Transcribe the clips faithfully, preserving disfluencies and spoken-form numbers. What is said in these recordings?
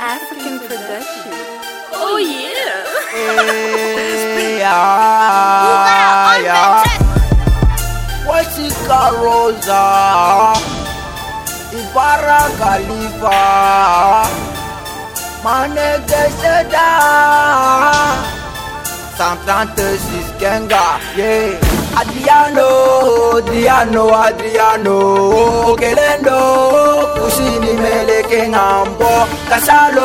African production. Oh yeah. Yeah, yeah. What's it called, Rosa? Ibarra Khalifa. Manege Seda. Santantesis Genga. Yeah. Adriano, Adriano, Adriano, Okelendo, Kusini Meleke Ngambo, Kasalo,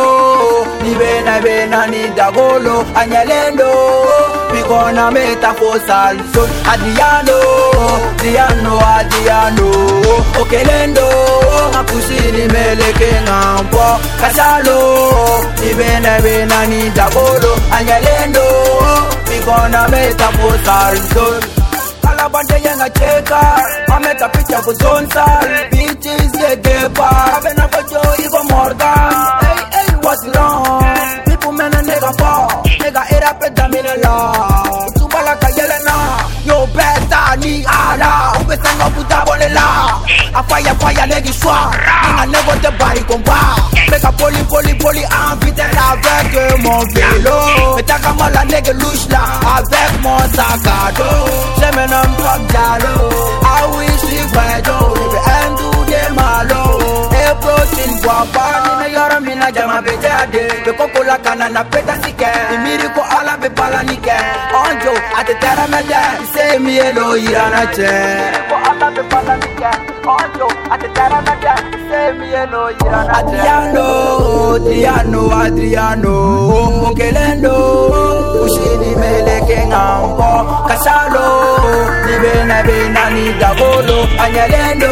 Nibena Bena ni Dagolo, Anyalendo, Picona Metaphosal, Adriano, Adriano, Adriano, Okelendo, Kusini Meleke Ngambo, Kasalo, Nibena Bena ni Dagolo, Anyalendo, Picona Metaphosal. Alabande yenga cheka, ameta picha kuzonsa, bitches get depa, abena kojo igo Morgan. Hey, hey, what's wrong? People men a nigga fall, nigga eat up a damn la. Tubala kayelena, yo beta ni ala, ubesanga puta bolela. A fire fire negi swa, inga nego te bari combat. Mega poli poli poli invité avec mon vélo. Metaka mala nege louche là, avec mon sac à dos. J'aime un homme comme Diallo, I wish you were down. Baby, and do them malo. Hey, protein guapa, ni me yoro mina jama bejade. Be koko la kana na peta sike, imiri ko ala be pala nike. Onjo, ate tera mede, say me elo irana che. Imiri ko ala be pala nike. Onjo, ate tera mede, say me elo irana che. Adriano, Adriano, Adriano, Okelendo, Ushini meleke ngambo, Kasalo. Nibena bena ni Dagolo, Anyalendo,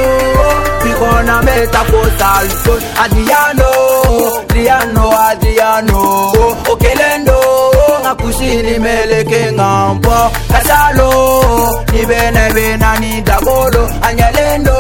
Picona Metaphosal, Adriano, Adriano, Adriano, Okelendo, Nakusini Meleke Ngambo, Kasalo, Nibena bena ni Dagolo, Anyalendo,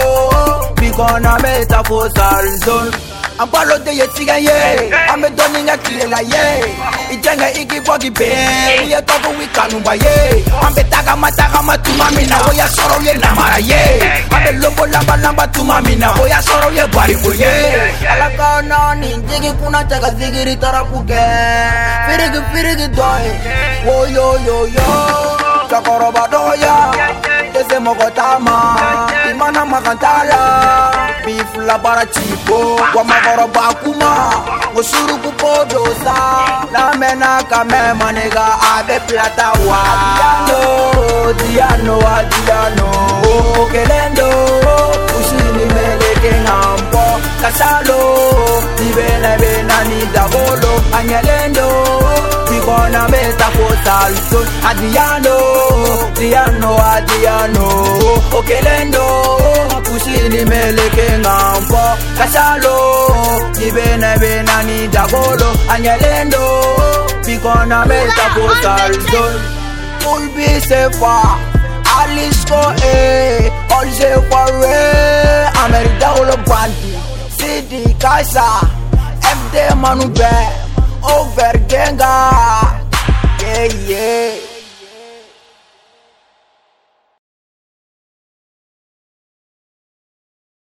Picona Metaphosal zone. I'm palo de yetiga ye, I'm a donning a killer ye. Ijanga iki bogi be, we are talking with Kanumba ye. I'm a taga mataga matumamina, we are sorrow ye namara ye. I'm a lobo lamba lamba to mamina, we are sorrow ye body for ye. Alakana ninjigi kuna taga zigiri tarapuke. Firigi firigi doy, wo yo yo yo. Chakoroba doya, ese mogotama, imana makantala. Bifla para chipo, kwa magoro bakuma, usuru kupodosa, na mena kame manega abe plata wa. Diano, Diano, Diano, Okelendo, usini meleke ngambo, Kasalo, Nibena bena ni Dagolo, Anyalendo, Picona Metaphosal, Adriano, Diano, Adriano, Okelendo, Usini meleke ngambo, Kasalo, Nibena bena ni Dagolo, Anyalendo, Picona Metaphosal, Ulbi sefa, Alisco eh, all sefa re, Amerida olo bandi, Sidi Kasa, M D Manube, Over Genga, yeah yeah.